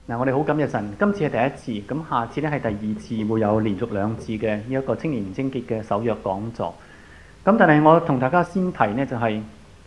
我哋好感謝神，今次係第一次，咁下次咧係第二次，會有連續2次嘅呢一個青年貞潔嘅守約講座。咁但係我同大家先提呢，就係、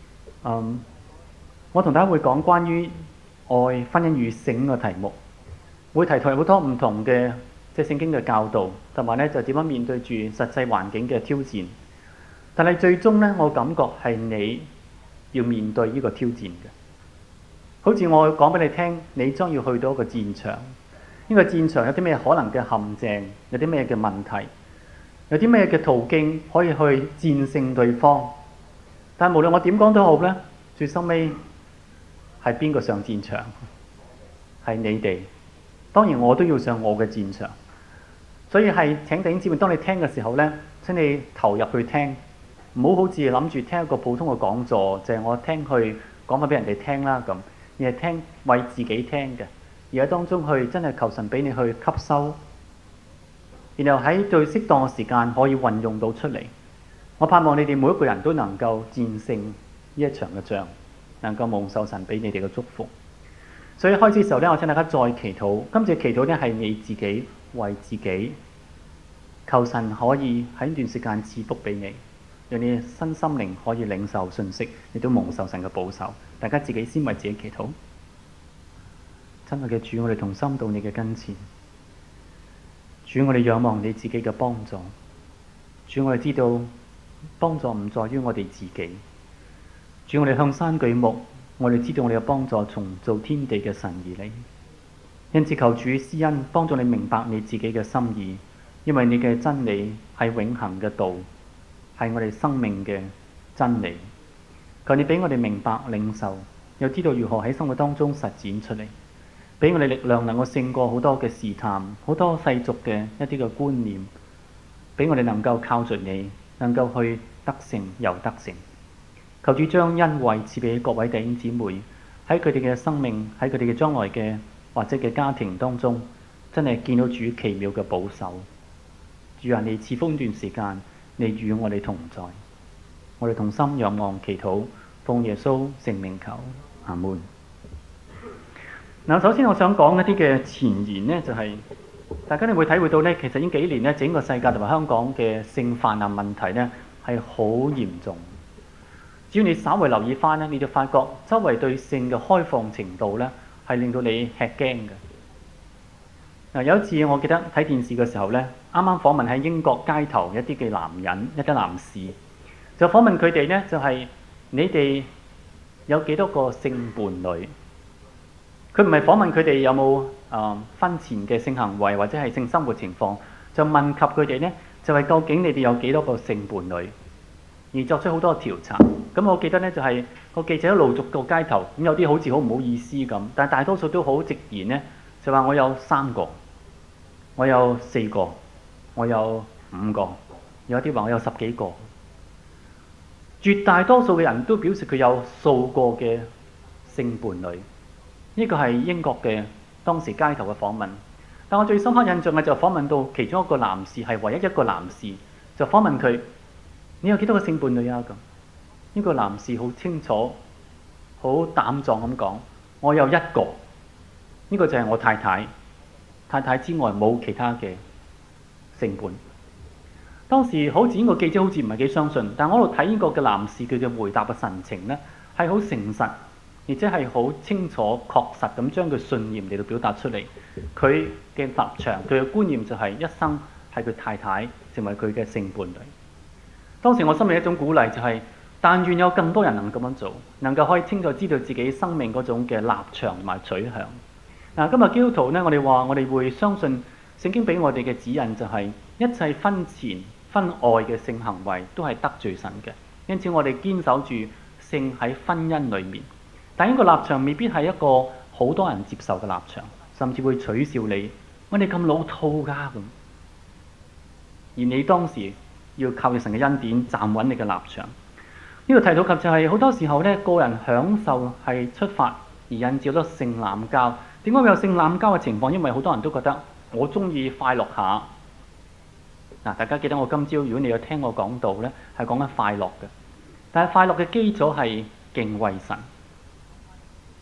我同大家會講關於愛、婚姻與性嘅題目，會提出好多唔同嘅聖經嘅教導，同埋咧就點樣面對住實際環境嘅挑戰。但係最終呢，我感覺係你要面對呢個挑戰嘅。好似我講俾你聽，你將要去到一個戰場，呢個戰場有啲咩可能嘅陷阱，有啲咩嘅問題，有啲咩嘅途徑可以去戰勝對方。但係無論我點講都好呢，最收尾係邊個上戰場？係你哋。當然我都要上我嘅戰場。所以係請弟兄姊妹，當你聽嘅時候呢，請你投入去聽，唔好好似諗住聽一個普通嘅講座，就係我聽去講翻俾人哋聽啦咁。而係聽為自己聽嘅，而喺當中去真係求神俾你去吸收，然後喺最適當嘅時間可以運用到出嚟。我盼望你哋每一個人都能夠戰勝呢一場嘅仗，能夠蒙受神俾你哋嘅祝福。所以開始嘅時候呢，我請大家再祈禱。今次祈禱呢係你自己為自己，求神可以喺呢段時間賜福俾你，讓你身心靈可以領受信息，亦都蒙受神嘅保守。大家自己先為自己祈禱。親愛嘅主，我哋同心到你嘅跟前。主，我哋仰望你自己嘅幫助。主，我哋知道幫助唔在於我哋自己。主，我哋向山舉目，我哋知道我哋嘅幫助從造天地嘅神而嚟。因此求主施恩，幫助你明白你自己嘅心意，因為你嘅真理係永恆嘅道，係我哋生命嘅真理。求你俾我哋明白領受，又知道如何喺生活當中實踐出嚟，俾我哋力量能夠勝過好多嘅試探，好多世俗嘅一啲嘅觀念，俾我哋能夠靠着你，能夠去得勝又得勝。求主將恩惠賜俾各位弟兄姊妹，喺佢哋嘅生命，喺佢哋嘅將來嘅或者嘅家庭當中，真係見到主奇妙嘅保守。主啊，你賜福呢段時間，你與我哋同在。我哋同心仰望祈禱，奉耶穌聖名求，阿門。嗱，首先我想講一啲嘅前言呢，就係大家你會體會到呢，其實呢幾年呢，整個世界同埋香港嘅性泛濫問題呢係好嚴重。只要你稍為留意翻呢，你就發覺周圍對性嘅開放程度呢係令到你吃驚嘅。有一次我記得睇電視嘅時候呢，啱啱訪問喺英國街頭一啲嘅男人，一啲男士。就訪問佢哋呢，就係你哋有幾多個性伴侶？佢唔係訪問佢哋有冇婚前嘅性行為或者係性生活情況，就問及佢哋呢，就係究竟你哋有幾多個性伴侶？而作出好多調查。咁我記得呢，就係個記者一路逐個街頭，咁有啲好似好唔好意思咁，但係大多數都好直言呢，就話我有3個，我有4個，我有5個，有啲話我有10幾個。絕大多數嘅人都表示佢有數個嘅性伴侶，呢個係英國嘅當時街頭嘅訪問。但我最深刻印象嘅就訪問到其中一個男士，係唯一一個男士，就訪問佢：你有幾多個性伴侶啊？咁呢個男士好清楚、好膽壯咁講：我有1個，呢個就係我太太。太太之外冇其他嘅性伴。當時好似呢個記者好似唔係幾相信，但我喺度睇呢個嘅男士佢嘅回答嘅神情呢，係好誠實，而且係好清楚確實咁將佢信念嚟到表達出嚟。佢嘅立場，佢嘅觀念就係一生係佢太太成為佢嘅性伴侶。當時我心裏一種鼓勵就係，但願有更多人能咁樣做，能夠可以清楚知道自己生命嗰種嘅立場同埋取向。嗱，今日基督徒呢，我哋話我哋會相信聖經俾我哋嘅指引就係一切婚前婚外嘅性行為都係得罪神嘅，因此我哋堅守住性喺婚姻裏面。但呢個立場未必係一個好多人接受嘅立場，甚至會取笑你，我哋咁老套㗎咁。而你當時要靠住神嘅恩典站穩你嘅立場。呢個提到及就係好多時候呢，個人享受係出發而引致好多性濫交。點解會有性濫交嘅情況？因為好多人都覺得我中意快樂下。嗱，大家記得我今朝如果你有聽我講道呢，係講緊快樂嘅。但係快樂嘅基礎係敬畏神。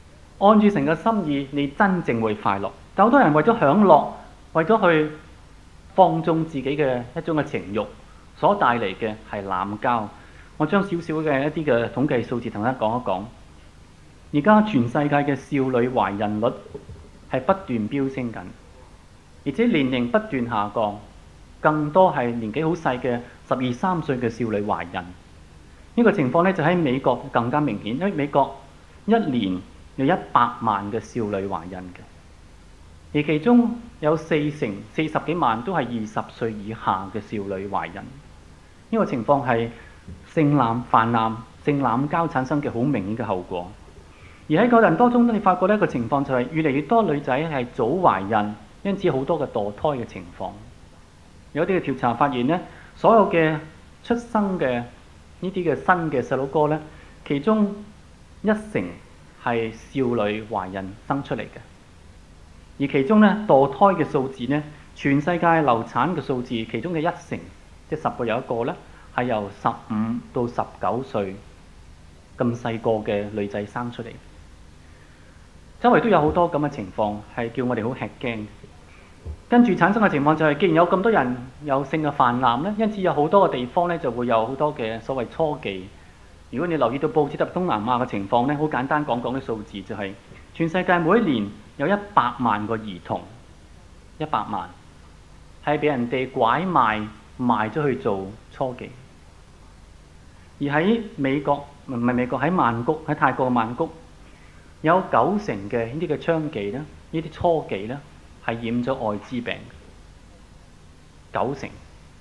按住神嘅心意，你真正會快樂。但好多人為咗享樂，為咗去放縱自己嘅一種嘅情慾，所帶嚟嘅係濫交。我將少少嘅一啲嘅統計數字同大家講一講。而家全世界嘅少女懷孕率係不斷飆升緊，而且年齡不斷下降，更多係年紀好細嘅12、13歲嘅少女懷孕。呢個情況咧就喺美國更加明顯，因為美國一年有100萬嘅少女懷孕嘅，而其中有40幾萬都係20歲以下嘅少女懷孕。呢個情況係性濫泛濫、性濫交產生嘅好明顯嘅後果。而喺個人當中，你發覺呢個情況就係越嚟越多女仔係早懷孕，因此好多嘅墮胎嘅情況。有啲嘅調查發現呢，所有嘅出生嘅呢啲嘅新嘅細佬哥呢，其中1成係少女懷孕生出嚟嘅，而其中呢，墮胎嘅數字呢，全世界流產嘅數字其中嘅1成，即係10個有1個呢，係由15到19歲咁細個嘅女仔生出嚟。周圍都有好多咁嘅情況，係叫我哋好吃驚。跟住產生嘅情況就係，既然有咁多人有性嘅泛濫咧，因此有好多個地方咧就會有好多嘅所謂初妓。如果你留意到報紙特別東南亞嘅情況咧，好簡單講講啲數字就係，全世界每一年有100萬個兒童，100萬係俾人哋拐賣賣咗去做初妓。而喺美國唔係美國，喺曼谷，喺泰國嘅曼谷，有9成嘅呢啲嘅娼妓咧，呢啲初妓咧，係染咗愛滋病。9成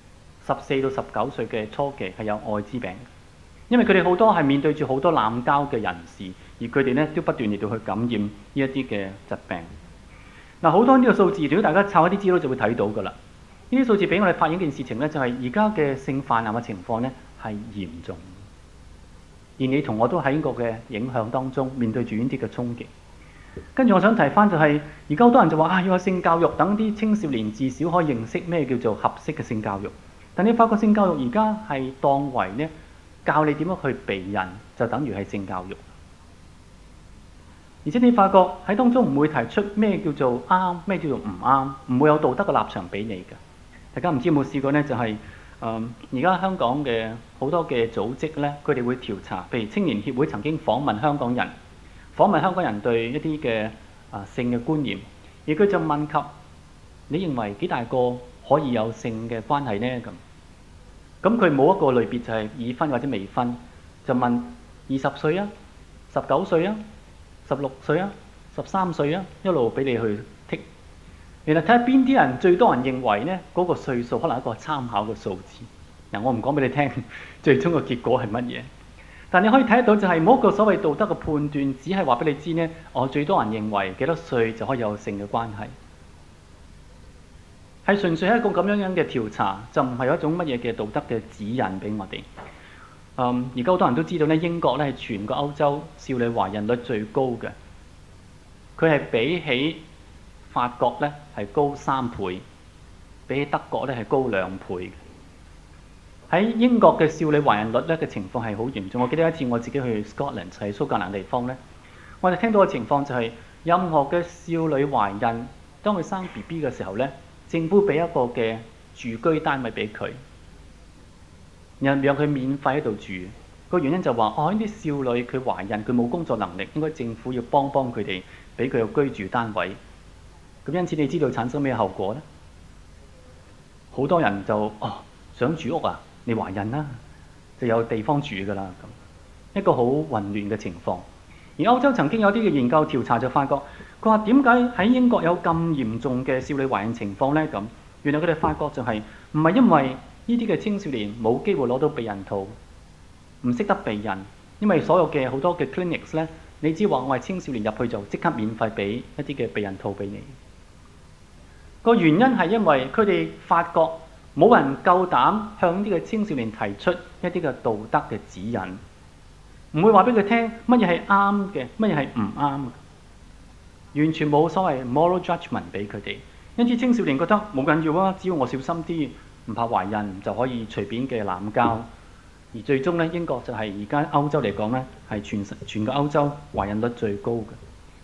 14到19歲嘅初妓係有愛滋病，因為佢哋好多係面對住好多濫交嘅人士，而佢哋咧都不斷嚟到去感染呢一啲嘅疾病。嗱，好多呢個數字，如果大家抄一啲資料就會睇到㗎啦。呢啲數字俾我哋發現一件事情咧，就係而家嘅性泛濫嘅情況咧係嚴重。而你同我都喺呢個嘅影響當中，面對住呢啲嘅衝擊。跟住我想提翻就係，而家好多人就話要有性教育，等啲青少年至少可以認識咩叫做合適嘅性教育。但你發覺性教育而家係當為呢教你點樣去避孕，就等於係性教育。而且你發覺喺當中唔會提出咩叫做啱，咩叫做唔啱，唔會有道德嘅立場俾你嘅。大家唔知有冇試過呢？就係而家香港嘅好多嘅組織呢，佢哋會調查，譬如青年協會曾經訪問香港人對一啲嘅性嘅觀念，而佢就問及你認為幾大個可以有性嘅關係呢？咁佢冇一個類別就係已婚或者未婚，就問20歲啊、19歲啊、16歲啊、13歲啊，一路俾你去剔。原來睇下邊啲人最多人認為呢嗰個歲數可能係一個參考嘅數字。嗱，我唔講俾你聽，最終嘅結果係乜嘢？但你可以睇得到就係冇一個所謂道德嘅判斷，只係話俾你知呢，我最多人認為幾多歲就可以有性嘅關係，係純粹係一個咁樣嘅調查，就唔係有一種乜嘢嘅道德嘅指引俾我哋。而家好多人都知道呢，英國呢係全個歐洲少女懷孕率最高嘅，佢係比起法國呢係高3倍，比起德國呢係高2倍。喺英國嘅少女懷孕率咧嘅情況係好嚴重。我記得一次我自己去 Scotland， 喺蘇格蘭地方咧，我哋聽到嘅情況就係任何嘅少女懷孕，當佢生 BB 嘅時候咧，政府俾一個嘅住居單位俾佢，讓佢免費喺度住。個原因就話呢啲少女佢懷孕，佢冇工作能力，應該政府要幫佢哋，俾佢有居住單位。咁因此你知道產生咩後果咧？好多人就想住屋啊！你懷孕啦，就有地方住㗎啦，咁一個好混亂嘅情況。而歐洲曾經有啲嘅研究調查就發覺，佢話點解喺英國有咁嚴重嘅少女懷孕情況呢？咁原來佢哋發覺就係唔係因為呢啲嘅青少年冇機會攞到避孕套，唔識得避孕，因為所有嘅好多嘅 clinics 呢，你只話我係青少年入去就即刻免費俾一啲嘅避孕套俾你。個原因係因為佢哋發覺，冇人夠膽向呢個青少年提出一啲嘅道德嘅指引，唔會話俾佢聽乜嘢係啱嘅，乜嘢係唔啱嘅，完全冇所謂 moral judgment 俾佢哋。因此青少年覺得冇緊要啊，只要我小心啲，唔怕懷孕就可以隨便嘅濫交。而最終呢，英國就係而家歐洲嚟講呢，係全個歐洲懷孕率最高嘅。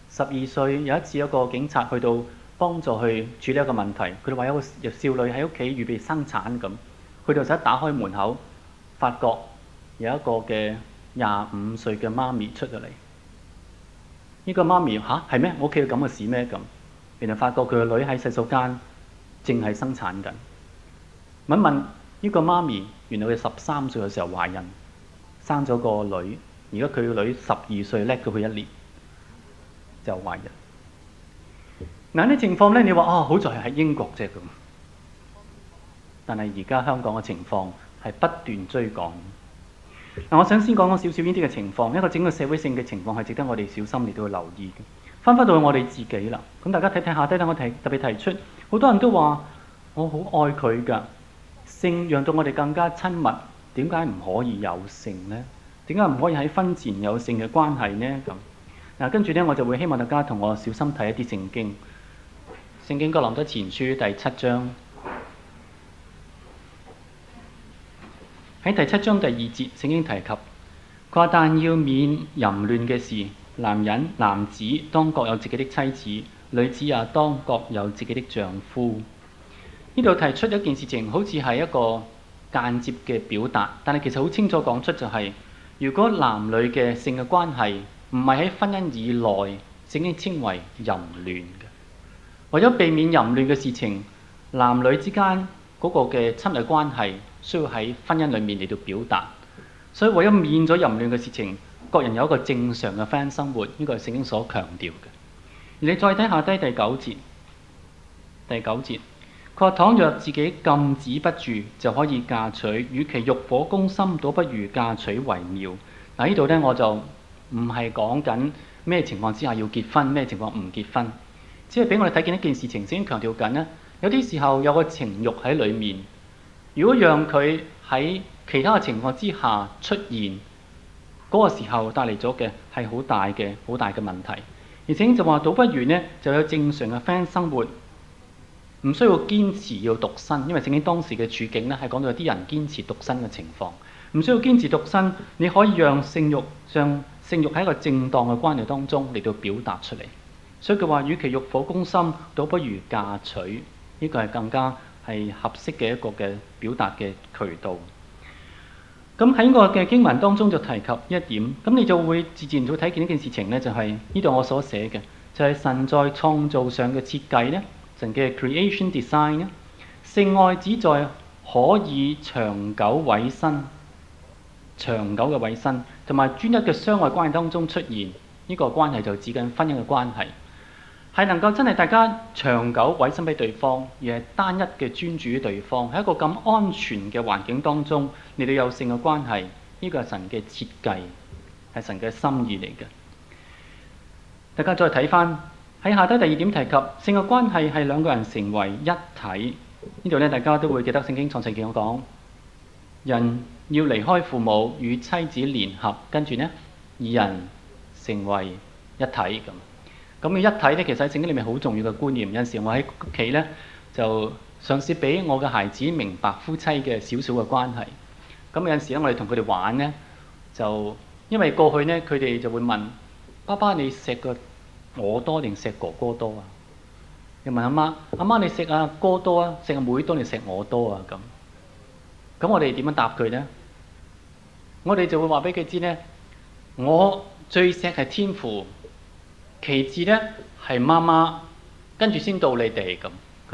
12歲有一次，一個警察去到幫助去處理一個問題，佢哋話有個少女喺屋企預備生產咁，去到就一打開門口，發覺有一個嘅25歲嘅媽咪出咗嚟。呢個媽咪嚇係咩？我屋企有咁嘅事咩咁？原來發覺佢個女喺洗手間正係生產緊。問問呢個媽咪，原來佢13歲嘅時候懷孕，生咗個女，而家佢個女12歲，叻過佢1年就懷孕。嗱，呢情況咧，你話好在係喺英國啫咁，但係而家香港嘅情況係不斷追趕。嗱，我想先講少少呢啲嘅情況，一個整個社會性嘅情況係值得我哋小心嚟到去留意嘅。翻到去我哋自己啦，咁大家睇睇下低，等我特別提出，好多人都話我好愛佢㗎，性讓到我哋更加親密，點解唔可以有性呢？點解唔可以喺婚前有性嘅關係呢？咁嗱，跟住呢，我就會希望大家同我小心睇一啲聖經。聖經哥林多前書第7章，喺第7章第2節，聖經提及佢話：但要免淫亂嘅事，男子當各有自己的妻子，女子也當各有自己的丈夫。呢度提出一件事情，好似係一個間接嘅表達，但係其實好清楚講出就係，如果男女嘅性嘅關係唔係喺婚姻以內，聖經稱為淫亂嘅。為咗避免淫亂嘅事情，男女之間嗰個嘅親密關係需要喺婚姻裏面嚟到表達。所以為咗免咗淫亂嘅事情，各人有一個正常嘅婚姻生活，呢個係聖經所強調嘅。而你再睇下低第9節，第9節佢話：倘若自己禁止不住，就可以嫁娶，與其欲火攻心，倒不如嫁娶為妙。嗱，呢度咧我就唔係講緊咩情況之下要結婚，咩情況唔結婚。只係俾我哋睇見一件事情，先強調緊咧，有啲時候有個情慾喺裏面，如果讓佢喺其他嘅情況之下出現，嗰個時候帶嚟咗嘅係好大嘅問題。而且就話倒不如呢，就有正常嘅婚姻生活，唔需要堅持要獨身，因為聖經當時嘅處境咧係講到有啲人堅持獨身嘅情況，唔需要堅持獨身，你可以讓性慾喺一個正當嘅關係當中嚟到表達出嚟。所以佢話：與其欲火攻心，倒不如嫁娶。呢個係更加係合適嘅一個嘅表達嘅渠道。咁喺個嘅經文當中就提及一點，咁你就會自然會睇見呢件事情呢，就係呢度我所寫嘅，就係神在創造上嘅設計呢，神嘅 creation design 呢，性愛只在可以長久委身、長久嘅委身同埋專一嘅相愛關係當中出現。呢個關係就指緊婚姻嘅關係。係能夠真係大家長久委身俾對方，而係單一嘅專注於對方，喺一個咁安全嘅環境當中，你哋有性嘅關係，呢個係神嘅設計，係神嘅心意嚟嘅。大家再睇翻喺下低第2點提及性嘅關係係兩個人成為一體。呢度咧大家都會記得聖經創世記講，人要離開父母與妻子聯合，跟住呢二人成為一體咁。咁嘅一體咧，其實喺聖經裏面好重要嘅觀念。有陣時我喺屋企咧，就嘗試俾我嘅孩子明白夫妻嘅少少嘅關係。咁有陣時咧，我哋同佢哋玩咧，就因為過去咧，佢哋就會問爸爸：你錫個我多定錫哥哥多啊？又問阿媽：阿媽你錫阿哥多啊，錫阿妹多定錫我多啊？咁我哋點樣答佢咧？我哋就會話俾佢知咧，我最錫係天父。其次咧係媽媽，跟住先到你哋咁。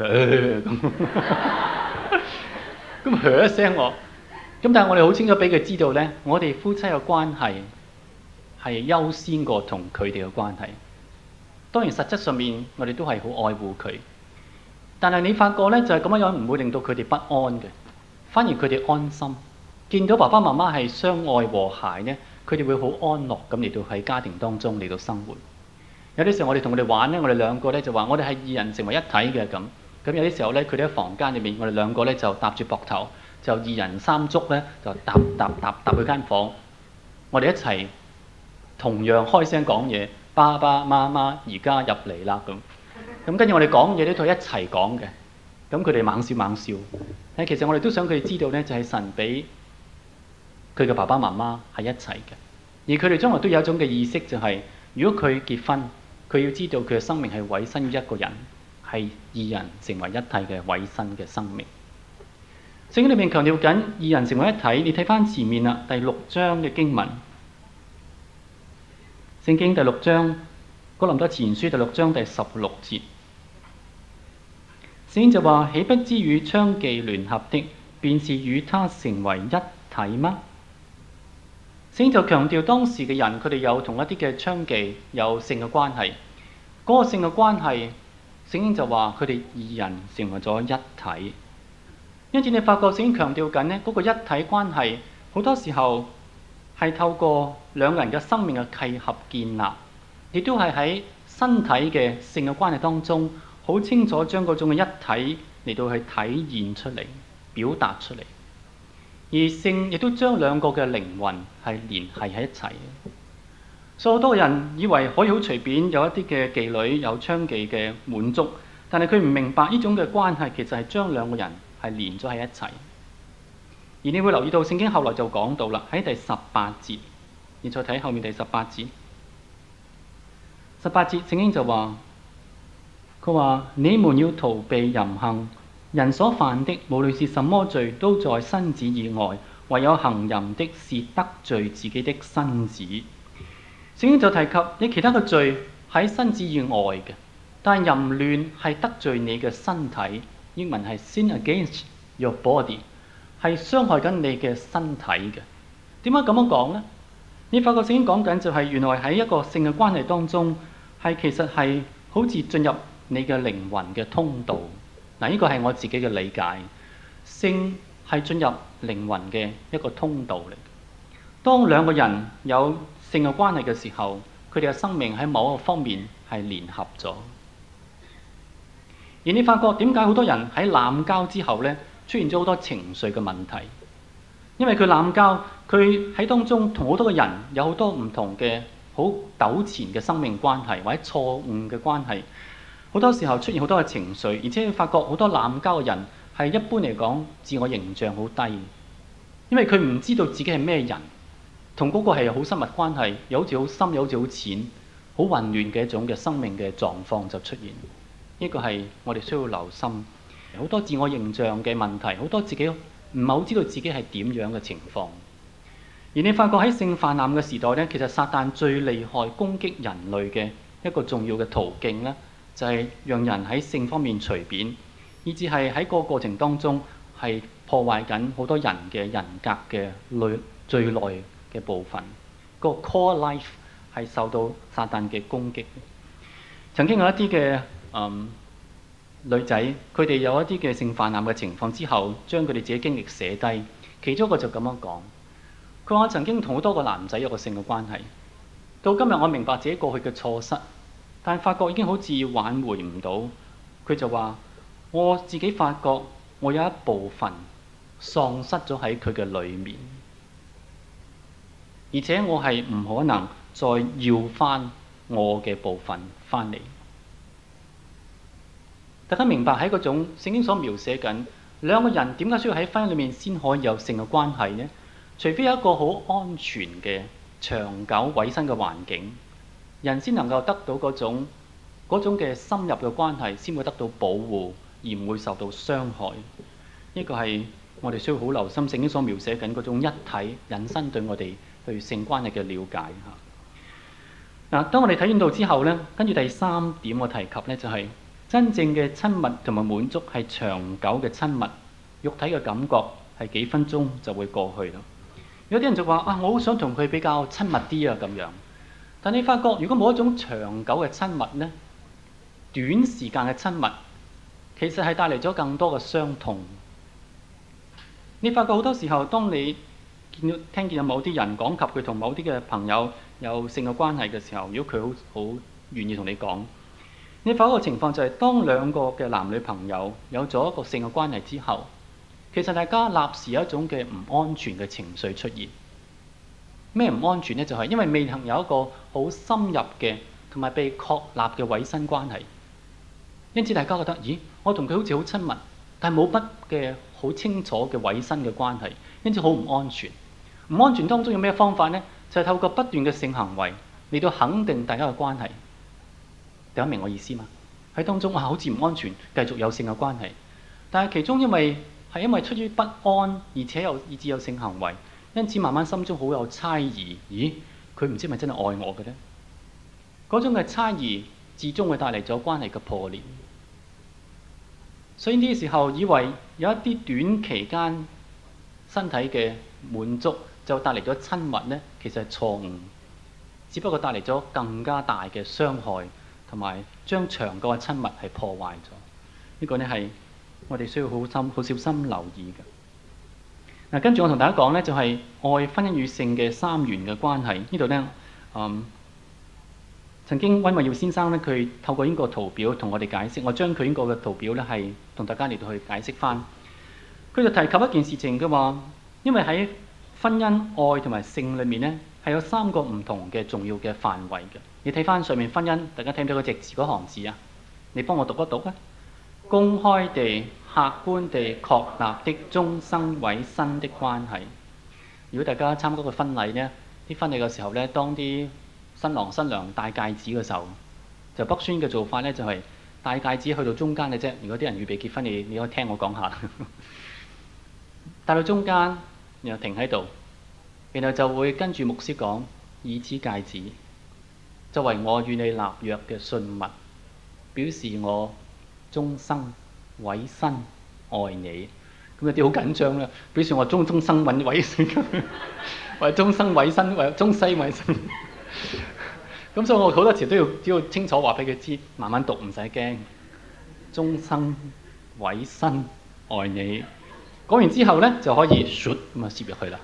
咁噏一聲我。咁但係我哋好清楚俾佢知道咧，我哋夫妻嘅關係係優先過同佢哋嘅關係。當然實質上面我哋都係好愛護佢，但係你發覺咧就係咁樣唔會令到佢哋不安嘅，反而佢哋安心。見到爸爸媽媽係相愛和諧咧，佢哋會好安樂咁嚟到喺家庭當中嚟到生活。有啲時候我哋同佢哋玩咧，我哋兩個咧就話我哋係二人成為一體嘅咁。咁有啲時候咧，佢哋喺房間裏面，我哋兩個咧就搭住膊頭，就二人三足咧就搭去間房。我哋一齊同樣開聲講嘢，爸爸媽媽而家入嚟啦咁。咁跟住我哋講嘢咧都係一齊講嘅。咁佢哋猛笑猛笑。其實我哋都想佢哋知道咧，就係神俾佢嘅爸爸媽媽係一齊嘅，而佢哋將來都有一種嘅意識，就係如果佢結婚， 佢要知道佢嘅生命係委身於一個人，係二人成為一體嘅委身嘅生命。聖經裏面強調緊二人成為一體，你睇翻前面啦，第6章嘅經文。聖經第6章，哥林多前書第6章第16節，聖經就話：豈不知與娼妓聯合的，便是與他成為一體嗎？聖經就強調當時嘅人，佢哋有同一啲嘅娼妓有性嘅關係。嗰個性嘅關係，聖經就話佢哋二人成為咗一體。因此你發覺聖經強調緊呢嗰個一體關係，好多時候係透過兩個人嘅生命嘅契合建立，亦都係喺身體嘅性嘅關係當中，好清楚將嗰種嘅一體嚟到去體現出嚟、表達出嚟。而性亦都將兩個嘅靈魂係連繫喺一齊。所以好多人以為可以好隨便有一啲嘅妓女有娼妓嘅滿足，但係佢唔明白呢種嘅關係其實係將兩個人係連咗喺一齊。而你會留意到聖經後來就講到啦，喺第18節，你再睇後面第18節。18節聖經就話，佢話你們要逃避淫行，人所犯的無論是什麼罪，都在身子以外，唯有行淫的是得罪自己的身子。聖經就提及你其他嘅罪喺身子以外嘅，但係淫亂係得罪你嘅身體，英文係 sin against your body， 係傷害緊你嘅身體嘅。點解咁樣講呢？你發覺聖經講緊就係原來喺一個性嘅關係當中，係其實係好似進入你嘅靈魂嘅通道。嗱，呢個係我自己嘅理解，性係進入靈魂嘅一個通道嚟。當兩個人有性嘅關係嘅時候，佢哋嘅生命喺某一個方面係聯合咗。而你發覺點解好多人喺濫交之後呢，出現咗好多情緒嘅問題？因為佢濫交，佢喺當中同好多個人有好多唔同嘅好糾纏嘅生命關係，或者錯誤嘅關係。好多時候出現好多嘅情緒，而且你發覺好多濫交嘅人係一般嚟講自我形象好低，因為佢唔知道自己係咩人，同嗰個係好親密關係，又好似好深，又好似好淺，好混亂嘅一種嘅生命嘅狀況就出現。呢個係我哋需要留心，好多自我形象嘅問題，好多自己唔係好知道自己係點樣嘅情況。而你發覺喺性泛濫嘅時代呢，其實撒旦最厲害攻擊人類嘅一個重要嘅途徑呢，就係讓人喺性方面隨便，以至係喺個過程當中係破壞緊好多人嘅人格嘅最內嘅部分。個 core life 係受到撒旦嘅攻擊。曾經有一啲嘅女仔，佢哋有一啲嘅性泛濫嘅情況之後，將佢哋自己經歷寫低。其中一個就咁樣講，佢話：我曾經同好多個男仔有個性嘅關係，到今日我明白自己過去嘅錯失。但係發覺已經好似挽回唔到，佢就話：我自己發覺我有一部分喪失咗喺佢嘅裏面，而且我係唔可能再要翻我嘅部分翻嚟。大家明白喺嗰種聖經所描寫緊兩個人點解需要喺婚姻裏面先可以有性嘅關係呢？除非有一個好安全嘅長久委身嘅環境，人先能夠得到嗰種嘅深入嘅關係，先會得到保護，而唔會受到傷害。呢個係我哋需要好留心聖經所描寫緊嗰種一體引申對我哋對性關係嘅了解嚇。當我哋睇完到之後呢，跟住第3點我提及呢，就係真正嘅親密同埋滿足係長久嘅親密，肉體嘅感覺係幾分鐘就會過去咯。有啲人就話：我好想同佢比較親密啲啊咁樣。但你發覺，如果冇一種長久嘅親密呢，短時間嘅親密其實係帶嚟咗更多嘅傷痛。你發覺好多時候，當你聽見有某啲人講及佢同某啲嘅朋友有性嘅關係嘅時候，如果佢好願意同你講，你發覺個情況就係，當兩個嘅男女朋友有咗一個性嘅關係之後，其實大家立時有一種嘅唔安全嘅情緒出現。咩唔安全呢？就係因為未曾有一個好深入嘅同埋被確立嘅委身關係，因此大家覺得：咦，我同佢好似好親密，但係冇乜嘅好清楚嘅委身嘅關係，因此好唔安全。唔安全當中有咩方法呢？就係透過不斷嘅性行為嚟到肯定大家嘅關係。 大家明我意思嘛？喺當中好似唔安全，繼續有性嘅關係。但係其中因為出於不安，而且又以致有性行為，因此慢慢心中好有猜疑。咦？佢唔知係咪真係愛我嘅呢？嗰種嘅猜疑，至終會帶嚟咗關係嘅破裂。所以呢個時候，以為有一啲短期間身體嘅滿足就帶嚟咗親密呢，其實係錯誤，只不過帶嚟咗更加大嘅傷害，同埋將長久嘅親密係破壞咗。呢個呢係我哋需要好小心留意嘅。嗱，跟住我同大家講呢，就係愛、婚姻與性嘅三元嘅關係。呢度呢，曾經溫慧耀先生呢，佢透過呢個圖表同我哋解釋。我將佢呢個嘅圖表呢，係同大家嚟到去解釋翻。佢就提及一件事情嘅話，因為喺婚姻、愛同埋性裏面呢，係有三個唔同嘅重要嘅範圍嘅。你睇翻上面婚姻，大家睇唔睇到嗰隻字嗰行字啊？你幫我讀一讀啊！公開地、客觀地確立的終生委身的關係。如果大家參加個婚禮呢，啲婚禮嘅時候呢，當啲新郎新娘戴戒指嘅時候，就北宣嘅做法呢，就係戴戒指去到中間嘅啫。如果啲人預備結婚，你可以聽我講下。戴到中間，然後停喺度，然後就會跟住牧師講：以此戒指作為我與你立約嘅信物，表示我終生委身愛你。咁有啲好緊張啦，表示我終生委身，或者終生委身，或者終西委身。咁所以我好多時都要清楚話俾佢知，慢慢讀唔使驚。終生委身愛你。講完之後呢，就可以唰咁啊攝入去啦。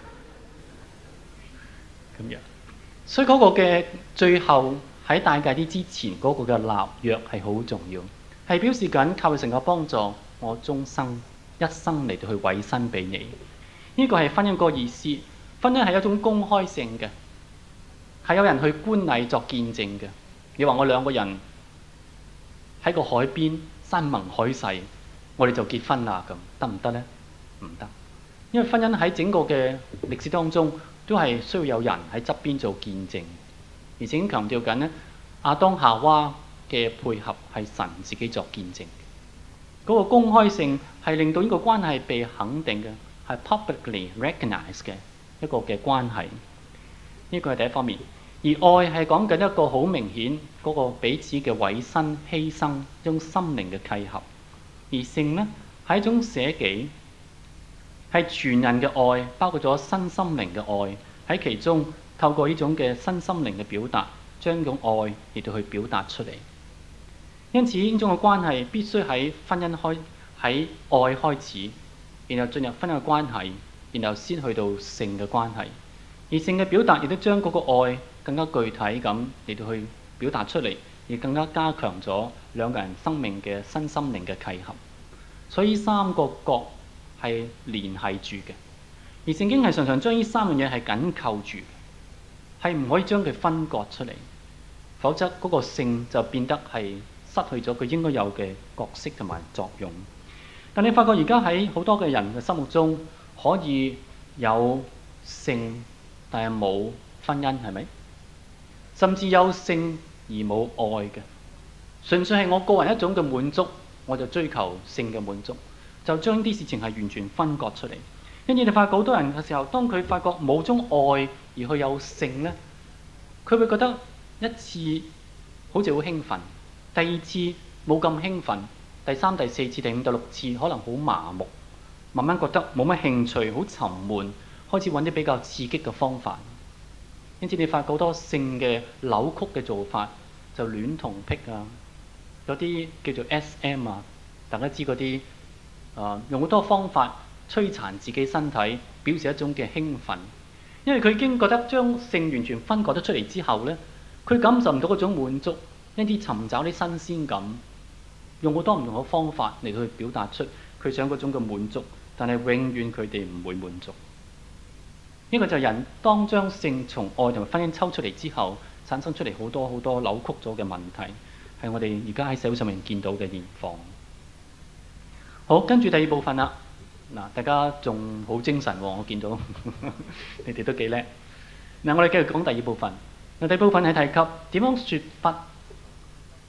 咁樣，所以嗰個嘅最後喺戴戒指之前嗰個嘅立約係好重要，係表示緊靠神嘅幫助，我終生一生嚟到去委身俾你。呢個係婚姻個意思。婚姻係一種公開性嘅，係有人去觀禮作見證嘅。你話我兩個人喺個海邊山盟海誓，我哋就結婚啦，咁得唔得呢？唔得，因為婚姻喺整個嘅歷史當中都係需要有人喺側邊做見證，而且強調緊呢，亞當夏娃嘅配合係神自己作見證。嗰個公開性係令到呢個關係被肯定嘅，係 publicly recognized 嘅一個嘅關係。呢個係第一方面。而愛係講緊一個好明顯嗰個彼此嘅委身犧牲，一種心靈嘅契合。而性呢，係一種捨己。係全人嘅愛，包括咗身心靈嘅愛，喺其中透過呢種嘅身心靈嘅表達，將呢種愛嚟到去表達出嚟。因此呢種嘅關係必須喺婚姻喺愛開始，然後進入婚姻嘅關係，然後先去到性嘅關係。而性嘅表達亦都將嗰個愛更加具體咁嚟到去表達出嚟，而更加加強咗兩個人生命嘅身心靈嘅契合。所以呢三個角係聯繫住嘅，而聖經係常常將呢三樣嘢係緊扣住，係唔可以將佢分割出嚟，否則嗰個性就變得係失去咗佢應該有嘅角色同埋作用。但你發覺而家喺好多嘅人嘅心目中，可以有性，但係冇婚姻，係咪？甚至有性而冇愛嘅，純粹係我個人一種嘅滿足，我就追求性嘅滿足。就將啲事情係完全分割出嚟，因此你發覺好多人嘅時候，當佢發覺冇種愛而去有性呢，佢會覺得一次好似好興奮，第二次冇咁興奮，第三、第四次、第五、第六次可能好麻木，慢慢覺得冇乜興趣，好沉悶，開始揾啲比較刺激嘅方法。因此你發覺好多性嘅扭曲嘅做法，就戀童癖啊，有啲叫做 SM 啊，大家知嗰啲。用好多方法摧殘自己身體，表示一種嘅興奮，因為佢已經覺得將性完全分割得出嚟之後呢，佢感受唔到嗰種滿足，因此尋找啲新鮮感，用好多唔同嘅方法嚟去表達出佢想嗰種嘅滿足，但係永遠佢哋唔會滿足。呢個就係人當將性從愛同埋婚姻抽出嚟之後，產生出嚟好多好多扭曲咗嘅問題，係我哋而家喺社會上面見到嘅現況。好，跟住第二部分啦。嗱，大家仲好精神喎，我見到你哋都幾叻。嗱，我哋繼續講第二部分。第二部分係提及點樣説不。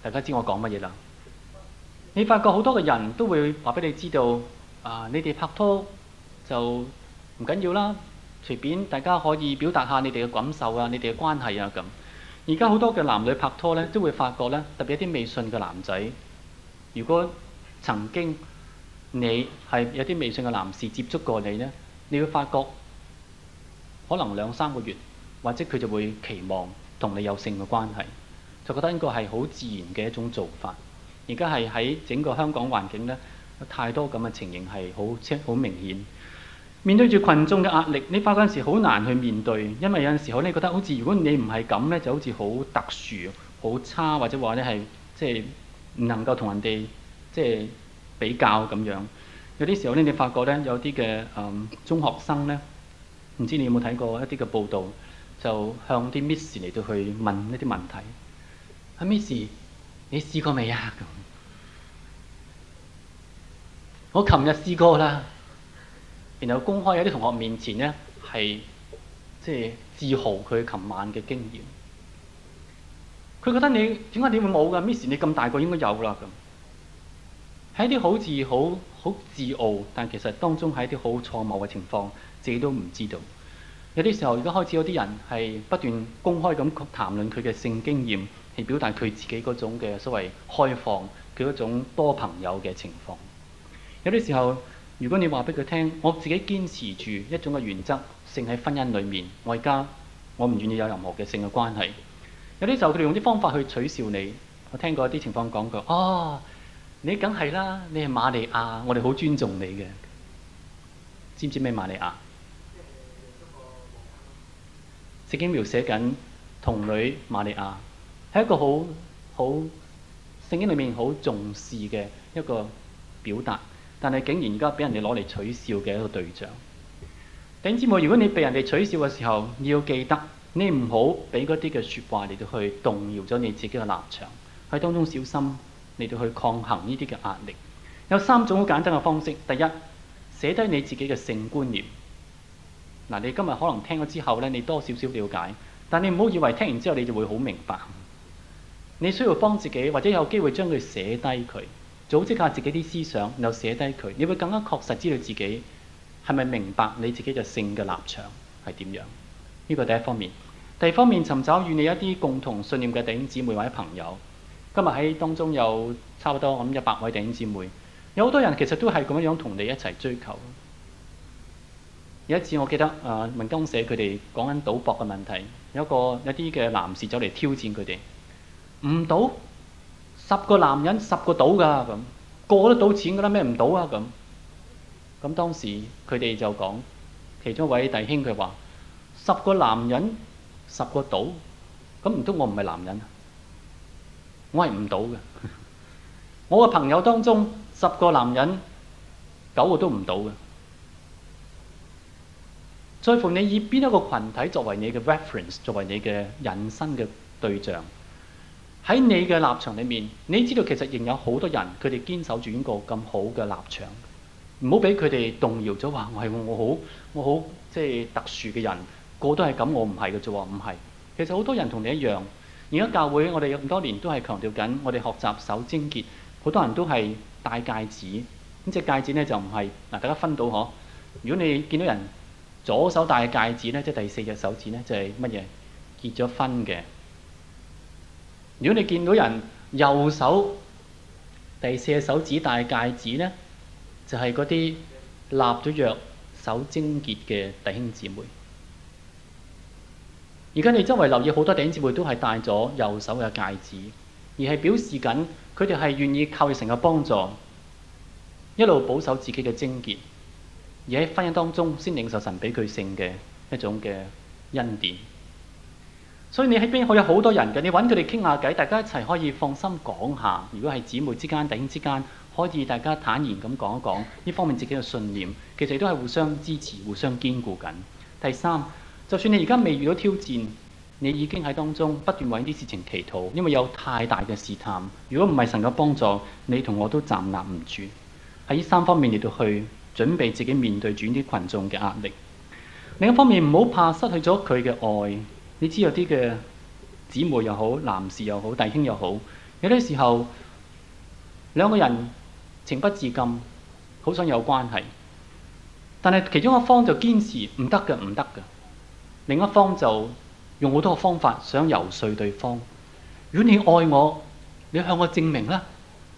大家知我講乜嘢啦？你發覺好多嘅人都會話俾你知道，你哋拍拖就唔緊要啦，隨便大家可以表達下你哋嘅感受啊，你哋嘅關係啊咁。而家好多嘅男女拍拖咧，都會發覺咧，特別一啲未信嘅男仔，如果曾經你係有啲未信嘅男士接觸過你咧，你會發覺可能2-3個月，或者佢就會期望同你有性嘅關係，就覺得應該係好自然嘅一種做法。而家係喺整個香港環境咧，有太多咁嘅情形係好明顯。面對住群眾嘅壓力，你發覺有陣時好難去面對，因為有陣時候你覺得好似如果你唔係咁咧，就好似好特殊、好差，或者話咧係即係唔能夠同人哋即係比較咁樣。有啲時候咧，你發覺咧有啲嘅中學生咧，唔知你有冇睇過一啲嘅報道，就向啲 Miss 嚟到去問一啲問題。Miss， 你試過未啊？咁我琴日試過啦。然後公開喺啲同學面前咧，係即係自豪佢琴晚嘅經驗。佢覺得你點解你會冇㗎？Miss， 你咁大個應該有啦咁。係一啲好似好自傲，但其實當中係一啲好錯謬嘅情況，自己都唔知道。有啲時候而家開始有啲人係不斷公開咁談論佢嘅性經驗，係表達佢自己嗰種嘅所謂開放，佢嗰種多朋友嘅情況。有啲時候，如果你話俾佢聽，我自己堅持住一種嘅原則，性喺婚姻裡面，我唔願意有任何嘅性嘅關係。有啲時候佢哋用啲方法去取笑你。我聽過一啲情況講過，你梗係啦，你係瑪利亞，我哋好尊重你嘅。知唔知咩瑪利亞？聖經描寫緊童女瑪利亞，係一個好聖經裡面好重視嘅一個表達。但係竟然而家俾人哋攞嚟取笑嘅一個對象。弟兄姊妹，如果你被人哋取笑嘅時候，你要記得，你唔好俾嗰啲嘅説話嚟到去動搖咗你自己嘅立場，喺當中小心嚟到去抗衡呢啲嘅壓力。有3種好簡單嘅方式。第一，寫低你自己嘅性觀念。嗱，你今日可能聽咗之後咧，你多少少了解，但你唔好以為聽完之後你就會好明白。你需要幫自己，或者有機會將佢寫低佢。組織下自己啲思想，然後寫低佢，你會更加確實知道自己係咪明白你自己嘅性嘅立場係點樣。呢個第一方面。第二方面，尋找與你一啲共同信念嘅弟兄姊妹或者朋友。今日喺當中有差不多100位弟兄姊妹，有好多人其實都係咁樣同你一齊追求。有一次我記得文光社佢哋講緊賭博嘅問題，有啲嘅男士走嚟挑戰佢哋，唔賭。10個男人10個賭㗎，咁個個都賭錢㗎啦，咩唔賭啊？咁當時佢哋就講，其中一位弟兄佢話：10個男人10個賭，咁唔通我唔係男人啊？我係唔賭嘅。我嘅朋友當中10個男人9個都唔賭嘅。在乎你以邊一個群體作為你嘅 reference， 作為你嘅引申嘅對象。喺你嘅立場裏面，你知道其實仍有好多人，佢哋堅守住呢個咁好嘅立場，唔好俾佢哋動搖咗。話我好即係特殊嘅人，個都係咁，我唔係嘅啫喎，唔係。其實好多人同你一樣。而家教會我哋咁多年都係強調緊，我哋學習守貞潔，好多人都係戴戒指。咁隻戒指咧就唔係嗱，大家分到嗬。如果你見到人左手戴戒指咧，即係第4隻手指咧，就係乜嘢？結咗婚嘅。如果你見到人右手第4隻手指戴戒指呢，就係嗰啲立咗約守貞潔嘅弟兄姊妹。而家你周圍留意好多弟兄姊妹都係戴咗右手嘅戒指，而係表示緊佢哋係願意靠神嘅幫助，一路保守自己嘅貞潔，而喺婚姻當中先領受神俾佢性嘅一種嘅恩典。所以你喺邊可以有好多人嘅，你揾佢哋傾下偈，大家一齊可以放心講下。如果係姊妹之間、弟兄之間，可以大家坦然咁講一講呢方面自己嘅信念，其實都係互相支持、互相堅固緊。第三，就算你而家未遇到挑戰，你已經喺當中不斷為啲事情祈禱，因為有太大嘅試探。如果唔係神嘅幫助，你同我都站立唔住。喺呢3方面嚟到去準備自己面對住啲群眾嘅壓力。另一方面，唔好怕失去咗佢嘅愛。你知有啲嘅姊妹又好，男士又好，弟兄又好， 有啲時候兩個人情不自禁，好想有關係，但係其中一方就堅持唔得嘅，唔得嘅，另一方就用好多個方法想遊說對方。如果你愛我，你向我證明啦，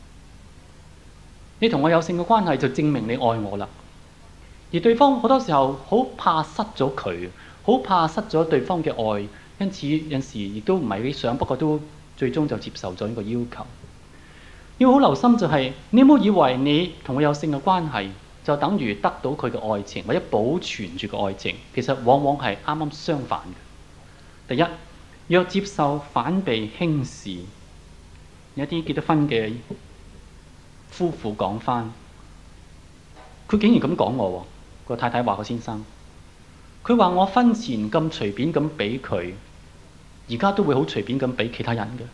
你同我有性嘅關係就證明你愛我啦。而對方好多時候好怕失咗佢，好怕失咗對方嘅愛，因此有時亦都唔係理想，不過都最終就接受咗呢個要求。要好留心就係，你唔好以為你同我有性嘅關係就等於得到佢嘅愛情或者保存住個愛情，其實往往係啱啱相反嘅。第一，若接受反被輕視，有一啲結咗婚嘅夫婦講返，佢竟然咁講我喎，個太太話個先生，佢話我婚前咁隨便咁俾佢，而家都會好隨便咁俾其他人嘅。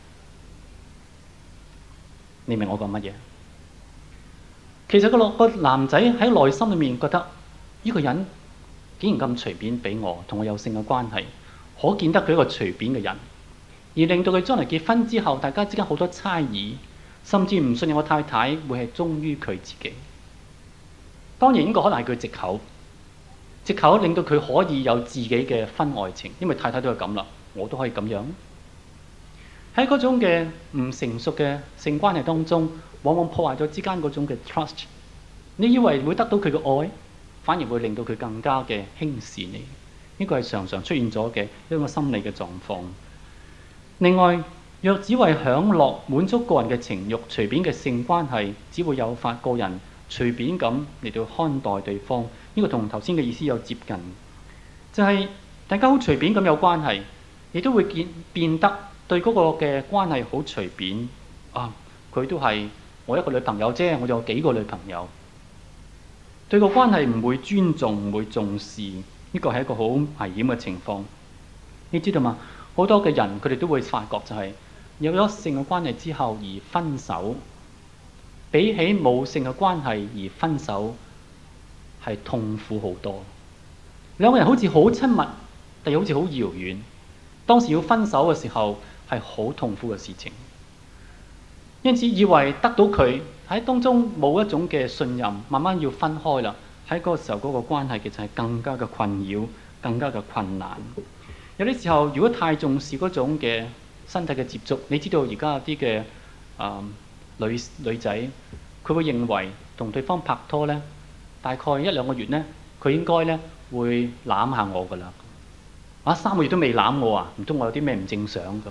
你明我講乜嘢？其實個男仔喺內心裏面覺得呢個人竟然咁隨便俾我，同我有性嘅關係，可見得佢一個隨便嘅人，而令到佢將來結婚之後，大家之間好多猜疑，甚至唔信任我太太會係忠於佢自己。當然呢個可能係佢藉口，藉口令到佢可以有自己嘅婚外情，因為太太都係咁啦，我都可以咁樣。喺嗰種嘅唔成熟嘅性關係當中，往往破壞咗之間嗰種嘅 trust。你以為會得到佢嘅愛，反而會令到佢更加嘅輕視你。呢個係常常出現咗嘅一個心理嘅狀況。另外，若只為享樂滿足個人嘅情慾，隨便嘅性關係，只會誘發個人隨便咁嚟到看待對方。呢個同頭先嘅意思有接近，就係大家好隨便咁有關係，亦都會變得對嗰個嘅關係好隨便啊！佢都係我一個女朋友啫，我有幾個女朋友，對個關係唔會尊重，唔會重視，呢個係一個好危險嘅情況。你知道嗎？好多嘅人佢哋都會發覺就係有咗性嘅關係之後而分手，比起冇性嘅關係而分手係痛苦好多。兩個人好似好親密，但又好似好遙遠。當時要分手嘅時候係好痛苦嘅事情，因此以為得到佢喺當中冇一種嘅信任，慢慢要分開啦。喺嗰個時候嗰個關係其實係更加嘅困擾，更加嘅困難。有啲時候如果太重視嗰種嘅身體嘅接觸，你知道而家有啲嘅女仔，佢會認為同對方拍拖咧，大概1-2個月咧，佢應該咧會攬下我噶啦。3個月都未攬我啊？唔通我有啲咩唔正常咁？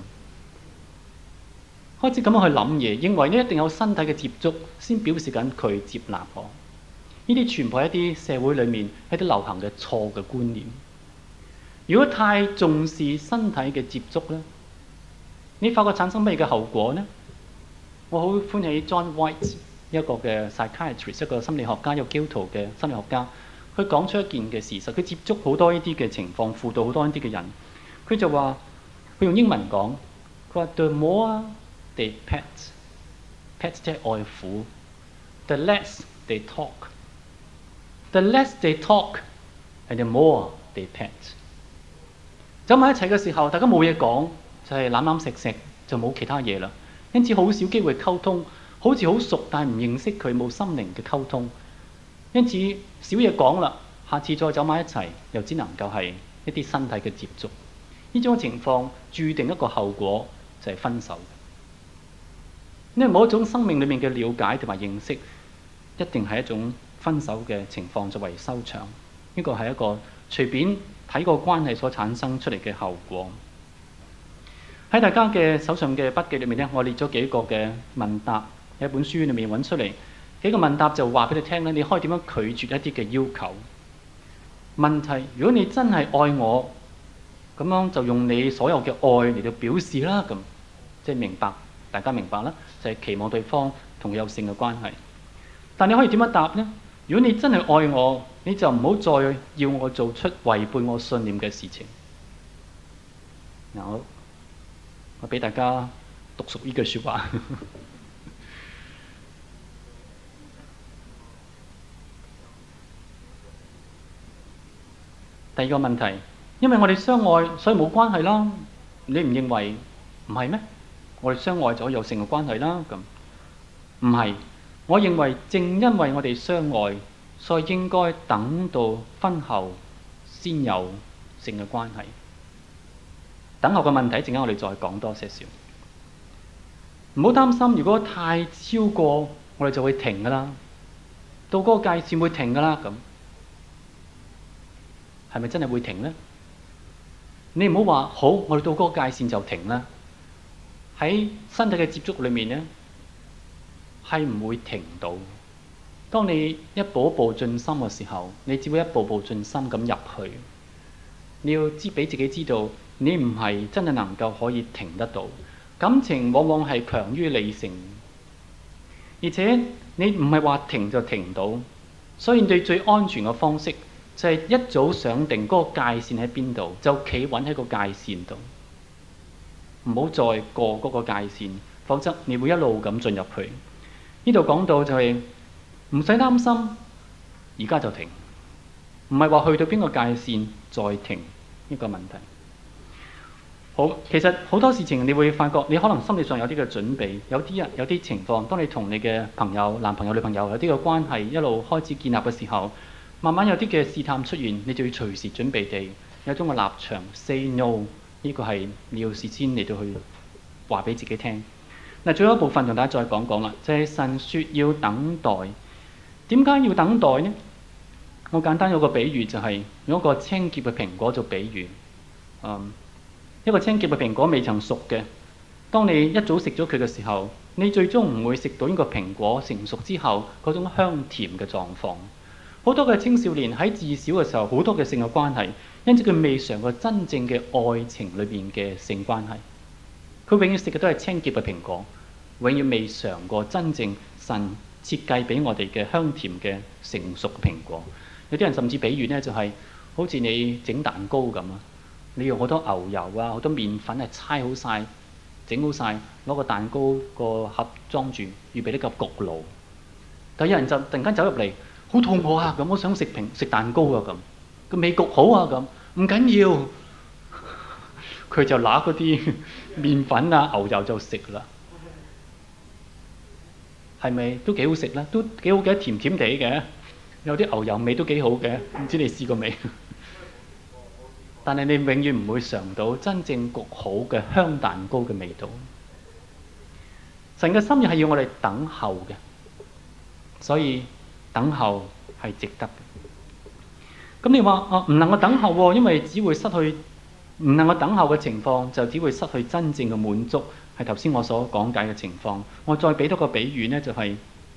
開始咁樣去諗嘢，認為呢一定有身體嘅接觸先表示緊佢接納我。呢啲全部係一啲社會裡面一啲流行嘅錯嘅觀念。如果太重視身體嘅接觸咧，你發覺產生咩嘅後果呢？我好歡喜 John White 一個嘅 psychiatrist， 一個心理學家，一個基督徒嘅心理學家。佢講出一件嘅事實，佢接觸好多呢啲嘅情況，輔導好多呢啲嘅人。佢就話，佢用英文講，佢話 The more they pet 即係愛撫 ，the less they talk，the less they talk，and the more they pet。走埋一齊嘅時候，大家冇嘢講，就係攬攬錫錫，就冇其他嘢啦。因此好少機會溝通，好似好熟，但係唔認識佢，冇心靈嘅溝通。因此少嘢講啦，下次再走埋一齊，又只能夠係一啲身體嘅接觸。呢種情況注定一個後果就係分手。因為某一種生命裡面嘅了解同埋認識，一定係一種分手嘅情況作為收場。呢個係一個隨便睇個關係所產生出嚟嘅後果。喺大家嘅手上嘅筆記裏面咧，我列咗幾個嘅問答，喺一本書裏面揾出嚟。幾個問答就話俾你聽咧，你可以點樣拒絕一啲嘅要求？問題：如果你真係愛我，咁樣就用你所有嘅愛嚟到表示啦，咁即係明白，大家明白啦，就係期望對方同佢有性嘅關係。但你可以點樣答呢？如果你真係愛我，你就唔好再要我做出違背我信念嘅事情。嗱，我俾大家讀熟呢句説話。第二個問題，因為我哋相愛，所以冇關係啦。你唔認為唔係咩？ 我哋相愛就可以有性嘅關係啦。咁唔係，我認為正因為我哋相愛，所以應該等到婚後先有性嘅關係。等候嘅問題，陣間我哋再講多些少。唔好擔心，如果太超過，我哋就會停噶啦。到嗰個界線會停噶啦。咁係咪真係會停呢？你唔好話好，我哋到嗰個界線就停啦。喺身體嘅接觸裏面呢，係唔會停到。當你一步一步進深嘅時候，你只會一步步進深咁入去。你要俾自己知道，你唔係真係能夠可以停得到。感情往往係強於理性，而且你唔係話停就停唔到。所以你最安全嘅方式就係一早想定嗰個界線喺邊度，就企穩喺個界線度，唔好再過嗰個界線，否則你會一路咁進入去。呢度講到就係唔使擔心，而家就停，唔係話去到邊個界線再停呢個問題。好，其實好多事情你會發覺，你可能心理上有啲嘅準備，有啲情況，當你同你嘅朋友、男朋友、女朋友有啲嘅關係一路開始建立嘅時候，慢慢有啲嘅試探出現，你就要隨時準備地有一種嘅立場 say no， 呢個係你要事先嚟到去話俾自己聽。嗱，最後一部分同大家再講講啦，就係神說要等待。點解要等待呢？我簡單有個比喻，就係用一個青澀嘅蘋果做比喻。一個青澀嘅蘋果未曾熟嘅，當你一早食咗佢嘅時候，你最終唔會食到呢個蘋果成熟之後嗰種香甜嘅狀況。好多嘅青少年喺自小嘅時候，好多嘅性嘅關係，因此佢未嘗過真正嘅愛情裏邊嘅性關係。佢永遠食嘅都係青澀嘅蘋果，永遠未嘗過真正神設計俾我哋嘅香甜嘅成熟嘅蘋果。有啲人甚至比喻呢，就係好似你整蛋糕咁啊！你用好多牛油啊，好多麵粉係猜好晒、整好晒，攞個蛋糕個盒裝住，預備呢個焗爐。但有人就突然間走入嚟，好肚餓啊！咁我想食蛋糕啊！咁佢未焗好啊！咁唔緊要，佢就拿嗰啲麵粉啊、牛油就食啦。係咪都幾好食咧？都幾好嘅，甜甜地嘅，有啲牛油味都幾好嘅。唔知你試過未？但係你永遠唔會嘗到真正焗好嘅香蛋糕嘅味道。神嘅心意係要我哋等候嘅，所以等候係值得嘅。咁你話唔能夠等候喎，因為只會失去，唔能夠等候嘅情況就只會失去真正嘅滿足，係頭先我所講解嘅情況。我再俾多個比喻呢，就係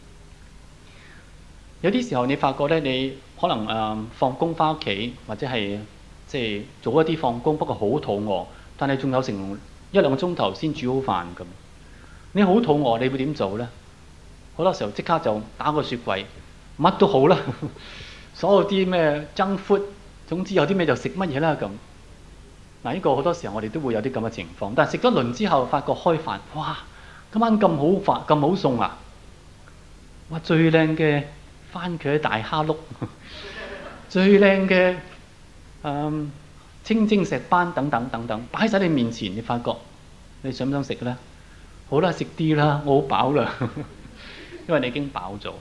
有啲時候你發覺咧，你可能放工翻屋企或者係即係早一啲放工，不過好肚餓，但係仲有成1-2個鐘頭先煮好飯咁。你好肚餓，你會點做呢？好多時候即刻就打個雪櫃，乜都好啦，所有啲咩junk food，總之有啲咩就食乜嘢啦咁。嗱，呢個好多時候我哋都會有啲咁嘅情況，但係食咗輪之後，發覺開飯，哇！今晚咁好飯，咁好餸啊！哇，最靚嘅番茄大蝦碌，最靚嘅青晶石斑等等等等，擺喺你面前，你發覺你想唔想食呢？好啦，食啲啦，我好飽啦，因為你已經飽咗。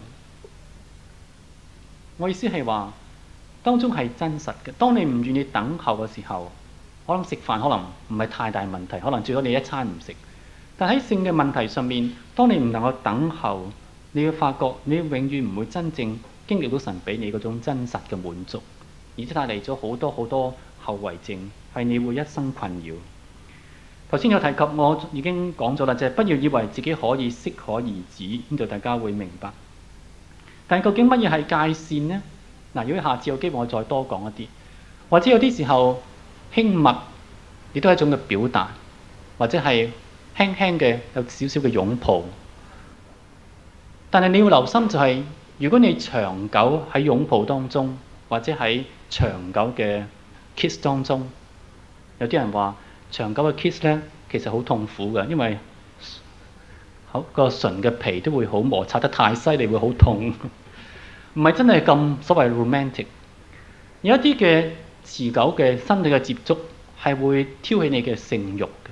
我意思係話，當中係真實嘅。當你唔願意等候嘅時候，可能食飯可能唔係太大問題，可能最多你一餐唔食。但喺性嘅問題上面，當你唔能夠等候，你要發覺你永遠唔會真正經歷到神俾你嗰種真實嘅滿足，而且帶嚟咗好多好多後遺症，係你會一生困擾。頭先有提及，我已經講咗啦，就係不要以為自己可以適可而止，呢度大家會明白。但究竟乜嘢係界線呢？嗱，如果下次有機會，我再多講一啲，或者有啲時候輕密亦都係一種嘅表達，或者係輕輕嘅有少少嘅擁抱。但係你要留心就係，如果你長久喺擁抱當中，或者喺長久嘅 kiss 當中，有啲人話長久嘅 kiss 咧，其實好痛苦嘅，因為個唇嘅皮都會好摩擦得太犀利，會好痛。唔係真係咁所謂 romantic。有一啲嘅持久嘅身體嘅接觸係會挑起你嘅性慾嘅。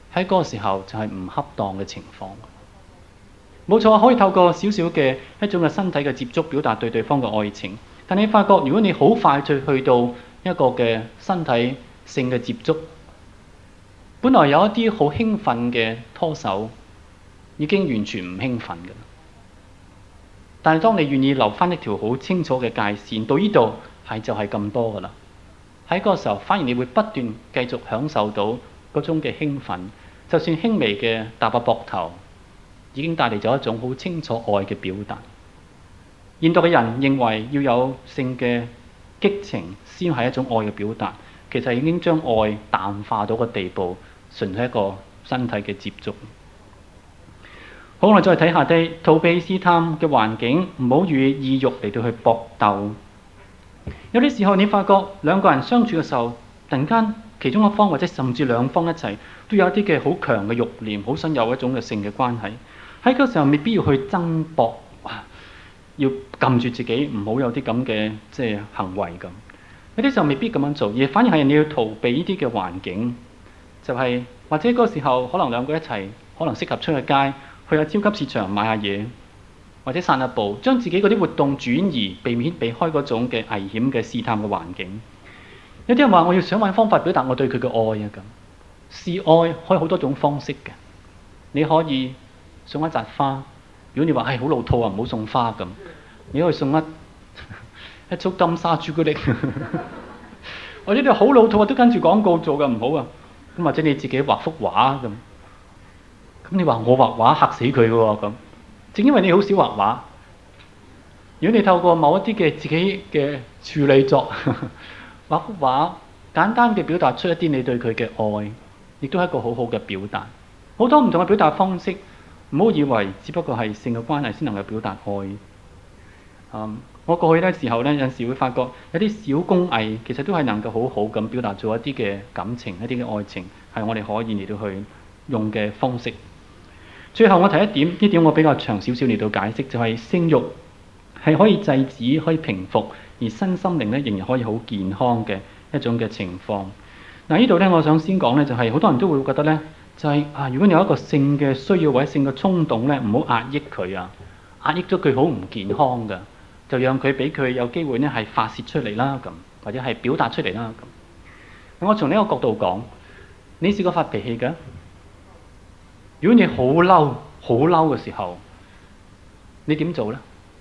喺嗰個時候就係唔恰當嘅情況。冇錯，可以透過少少嘅一種嘅身體嘅接觸表達對對方嘅愛情。但你發覺，如果你好快就去到一個嘅身體性嘅接觸，本來有一啲好興奮嘅拖手，已經完全唔興奮嘅。但係當你願意留翻一條好清楚嘅界線，到呢度係就係咁多噶啦。喺嗰個時候，反而你會不斷繼續享受到嗰種嘅興奮，就算輕微嘅搭下膊頭，已經帶嚟咗一種好清楚愛嘅表達。現代嘅人認為要有性嘅激情先係一種愛嘅表達，其實已經將愛淡化到個地步，純係一個身體嘅接觸。好，我哋再睇下啲逃避試探嘅環境，唔好與意欲嚟到去搏鬥。有啲時候你發覺兩個人相處嘅時候，突然間其中一方或者甚至兩方一齊都有一啲嘅好強嘅慾念，好想有一種嘅性嘅關係。喺嗰個時候未必要去爭搏，要撳住自己唔好有啲咁嘅行為咁。有啲時候未必咁樣做，而反而係你要逃避呢啲嘅環境，就係或者嗰個時候可能兩個一齊，可能適合出去街。去下超級市場買下嘢，或者散下步，將自己嗰啲活動轉移，避開嗰種嘅危險嘅試探嘅環境。有啲人話我要想揾方法表達我對佢嘅愛啊咁。示愛可以好多種方式嘅，你可以送一扎花。如果你話好老套啊，唔好送花咁，你可以送一束金沙朱古力。或者你好老套啊，都跟住廣告做嘅唔好啊。咁或者你自己畫幅畫咁。咁你話我畫畫嚇死佢嘅喎咁，正因為你好少畫畫。如果你透過某一啲嘅自己嘅處理作，畫幅畫，簡單嘅表達出一啲你對佢嘅愛，亦都係一個好好嘅表達。好多唔同嘅表達方式，唔好以為只不過係性嘅關係先能夠表達愛。我過去嘅時候呢，有陣時會發覺有啲小工藝其實都係能夠好好咁表達咗一啲嘅感情、一啲嘅愛情，係我哋可以嚟到去用嘅方式。最後我提一點，呢點我比較長少少嚟到解釋，就係性慾係可以制止、可以平復，而身心靈咧仍然可以好健康嘅一種嘅情況。嗱，呢度咧我想先講咧，就係好多人都會覺得咧，就係如果你有一個性嘅需要或者性嘅衝動咧，唔好壓抑佢啊，壓抑咗佢好唔健康㗎，就讓佢俾佢有機會咧係發泄出嚟啦咁，或者係表達出嚟啦咁。我從呢個角度講，你試過發脾氣㗎？如果你好嬲嘅時候，你點做呢？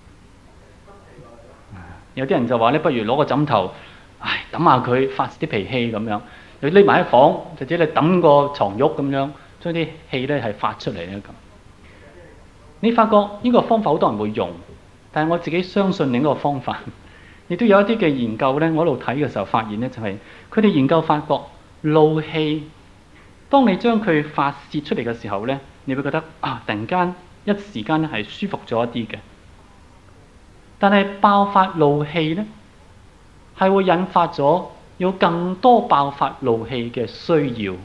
有啲人就話咧，不如攞個枕頭，揼下佢發泄啲脾氣咁樣。你匿埋喺房，或者你揼個床褥咁樣，將啲氣咧係發出嚟咧咁。你發覺呢個方法好多人會用，但係我自己相信另一個方法，亦都有一啲嘅研究咧。我喺度睇嘅時候發現咧，就係佢哋研究發覺怒氣。當你將佢發泄出嚟嘅時候呢，你會覺得突然間一時間係舒服咗一啲嘅。但係爆發怒氣呢，係會引發咗有更多爆發怒氣嘅需要。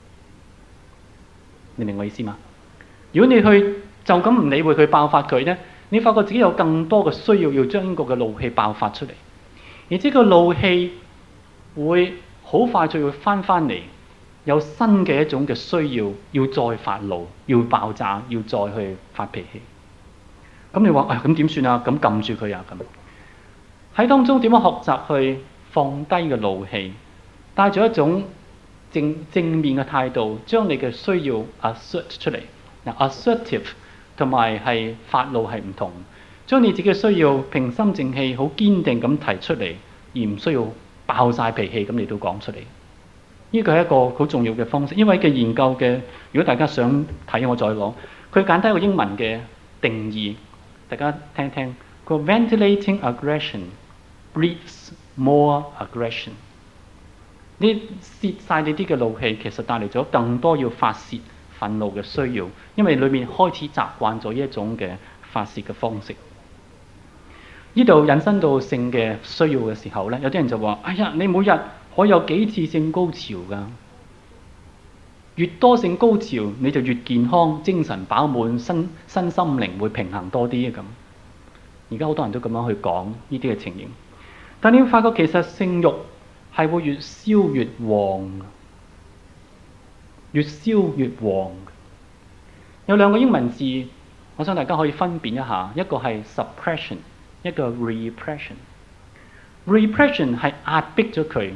你明我意思嗎？如果你去就咁唔理會佢爆發佢呢，你發覺自己有更多嘅需要要將呢個嘅怒氣爆發出嚟，而這個怒氣會好快就會翻嚟。有新嘅一種嘅需要，要再發怒，要爆炸，要再去發脾氣。咁你話咁點算啊？咁撳住佢啊咁。喺當中點樣學習去放低嘅怒氣，帶住一種正面嘅態度，將你嘅需要 assert 出嚟。嗱，assertive 同埋係發怒係唔同，將你自己嘅需要平心靜氣、好堅定咁提出嚟，而唔需要爆晒脾氣咁你都講出嚟。呢個係一個好重要嘅方式，因為嘅研究嘅，如果大家想睇，我再講。佢簡單一個英文嘅定義，大家聽聽。個 ventilating aggression breeds more aggression。你泄晒你啲嘅怒氣，其實帶嚟咗更多要發泄憤怒嘅需要，因為裏面開始習慣咗呢一種嘅發泄嘅方式。呢度引申到性嘅需要嘅時候咧，有啲人就話：哎呀，你每日可以有幾次性高潮㗎？越多性高潮，你就越健康、精神飽滿、身心靈會平衡多啲咁。而家好多人都咁樣去講呢啲嘅情形，但你會發覺其實性慾係會越燒越旺。 越燒越旺。有兩個英文字，我想大家可以分辨一下，一個係 suppression， 一個 repression。repression 係壓迫咗佢，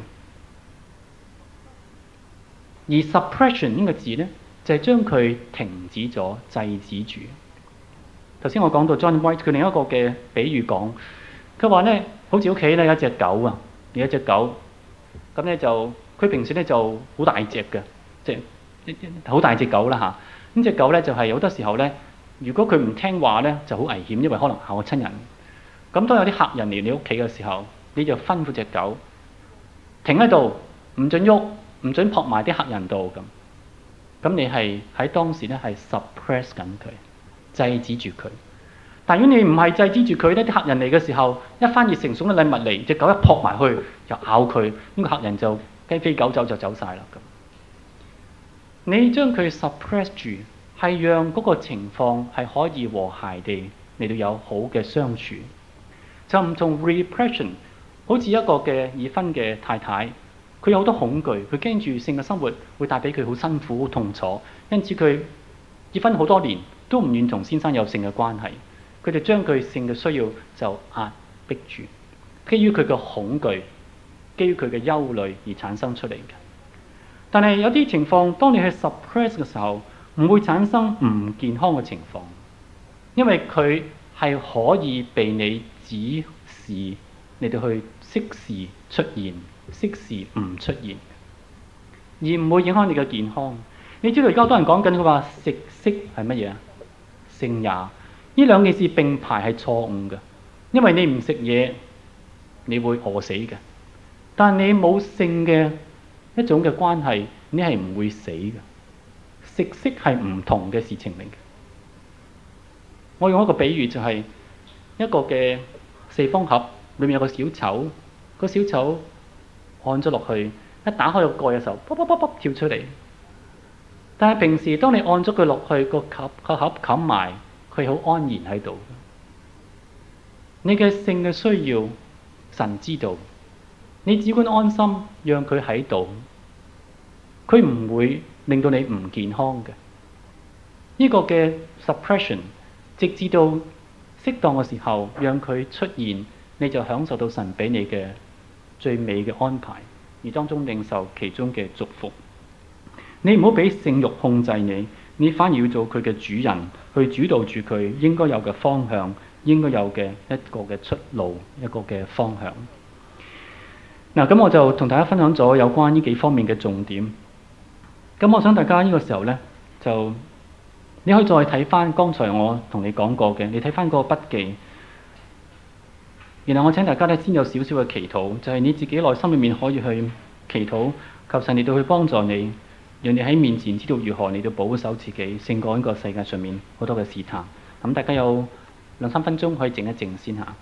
而 suppression 呢個字呢，就係將佢停止咗、制止住。頭先我講到 John White 佢另一個嘅比喻講，佢話呢，好似屋企咧有一隻狗啊，有一隻狗，咁咧就佢平時咧就好大隻嘅，即係好大隻狗啦嚇。咁隻狗咧就係好多時候咧，如果佢唔聽話咧就好危險，因為可能咬親人。咁當有啲客人嚟你屋企嘅時候，你就吩咐隻狗停喺度，唔准喐，唔准撲埋啲客人度咁。咁你係喺當時咧係 suppress 緊佢。制止住佢，但如果你唔係制止住佢咧，啲客人嚟嘅時候，一番熱誠送嘅禮物嚟，隻狗一撲埋去就咬佢，呢個客人就雞飛狗走就走晒啦咁。你將佢 suppress 住，係讓嗰個情況係可以和諧地嚟到有好嘅相處，就唔同 repression。好似一個嘅已婚嘅太太，佢有好多恐懼，佢驚住性嘅生活會帶俾佢好辛苦、好痛楚，因此佢結婚好多年，都唔願同先生有性嘅關係，佢哋將佢性嘅需要就壓迫住，基於佢嘅恐懼，基於佢嘅憂慮而產生出嚟嘅。但係有啲情況，當你去 suppress 嘅時候，唔會產生唔健康嘅情況，因為佢係可以被你指示嚟到去適時出現，適時唔出現，而唔會影響你嘅健康。你知道而家好多人講緊佢話食色係乜嘢啊？性也，呢兩件事並排係錯誤嘅，因為你唔食嘢，你會餓死嘅。但你冇性嘅一種嘅關係，你係唔會死嘅。食色係唔同嘅事情嚟嘅。我用一個比喻就係一個嘅四方盒，裏面有個小丑，個小丑按咗落去，一打開個蓋嘅時候，卜卜卜卜跳出嚟。但係平時當你按咗佢落去，個盒冚埋，佢好安然喺度。你嘅性嘅需要，神知道，你只管安心讓佢喺度，佢唔會令到你唔健康嘅。呢個嘅 suppression， 直至到適當嘅時候讓佢出現，你就享受到神俾你嘅最美嘅安排，而當中領受其中嘅祝福。你唔好俾性慾控制你，你反而要做佢嘅主人，去主導住佢應該有嘅方向，應該有嘅一個嘅出路，一個嘅方向。嗱，咁我就同大家分享咗有關呢幾方面嘅重點。咁我想大家呢個時候呢，就你可以再睇翻剛才我同你講過嘅，你睇翻嗰個筆記。然後我請大家呢先有少少嘅祈禱，就係你自己內心裏面可以去祈禱，求神嚟到去幫助你。讓你喺面前知道如何嚟到保守自己，勝過呢個世界上面好多嘅試探。咁大家有2-3分鐘可以靜一靜先下。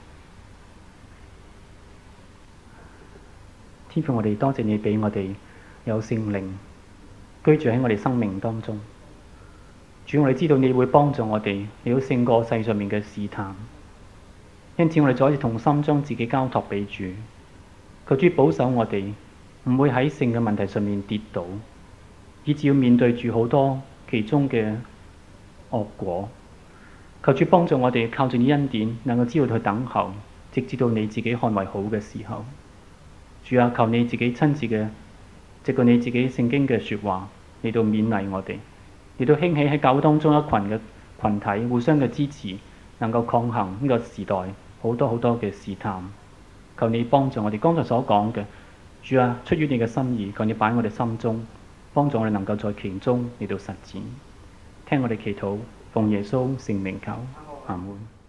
天父，我哋多謝你俾我哋有聖靈居住喺我哋生命當中。主，我哋知道你會幫助我哋，你要勝過世上面嘅試探。因此我哋再一次同心將自己交託俾主，求主保守我哋，唔會喺性嘅問題上面跌倒，以至要面對住好多其中嘅惡果。求主幫助我哋靠住你恩典，能夠知道去等候，直至到你自己看為好嘅時候。主啊，求你自己親自嘅，藉過你自己聖經嘅說話嚟到勉勵我哋，嚟到興起喺教會當中一群嘅群體互相嘅支持，能夠抗衡呢個時代好多好多嘅試探。求你幫助我哋剛才所講嘅，主啊，出於你嘅心意，求你擺喺我哋心中，幫助我哋能夠在其中嚟到實踐。聽我哋祈禱，奉耶穌聖名求，阿門。